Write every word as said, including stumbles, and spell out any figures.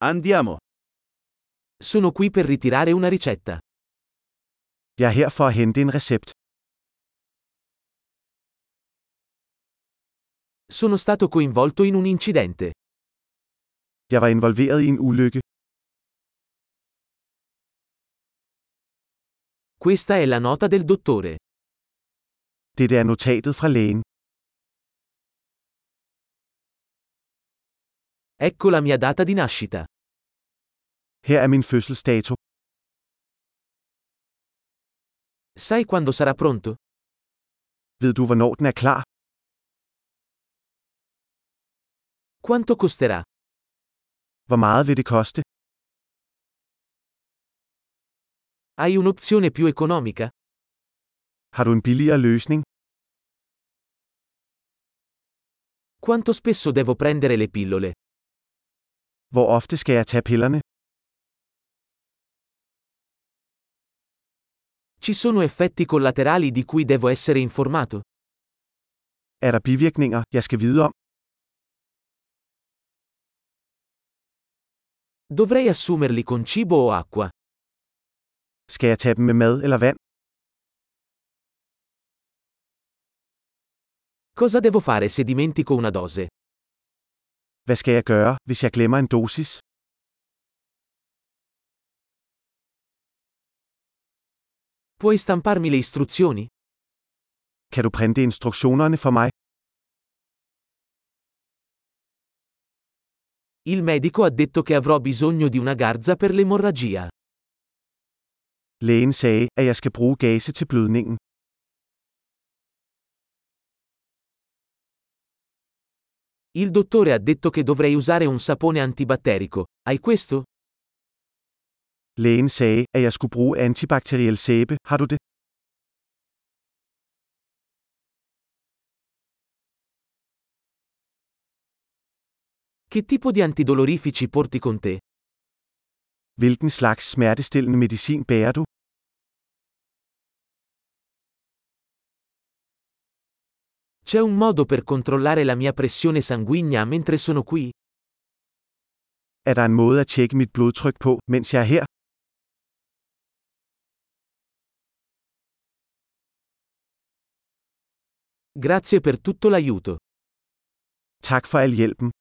Andiamo. Sono qui per ritirare una ricetta. Jeg er her for at hente en recept. Sono stato coinvolto in un incidente. Jeg var involveret i en ulykke. Questa è la nota del dottore. Dette er notatet fra lægen. Ecco la mia data di nascita. Her er min fødselsdato. Sai quando sarà pronto? Ved du, hvornår den er klar? Quanto costerà? Hvor meget vil det koste? Hai un'opzione più economica? Har du en billigere løsning? Quanto spesso devo prendere le pillole? Hvor ofte skal jeg tage pillerne? Ci sono effetti collaterali di cui devo essere informato? Er der bivirkninger, jeg skal vide om? Dovrei assumerli con cibo o acqua? Skal jeg tage dem med mad eller vand? Cosa devo fare se dimentico una dose? Hvad skal jeg gøre, hvis jeg glemmer en dosis? Puoi stamparmi le istruzioni? Kan du printe instruktionerne for mig? Il medico ha detto che avrò bisogno di una garza per l'emorragia. Lægen sagde, at jeg skal bruge gase til blødningen. Il dottore ha detto che dovrei usare un sapone antibatterico. Hai questo? Lægen sagde, at jeg skulle bruge antibakteriel sæbe. Har du det? Che tipo di antidolorifici porti con te? Hvilken slags smertestillende medicin bærer du? C'è un modo per controllare la mia pressione sanguigna mentre sono qui? Er der en måde at tjekke mit blodtryk på, mens jeg er her? Grazie per tutto l'aiuto. Tak for al hjælpen.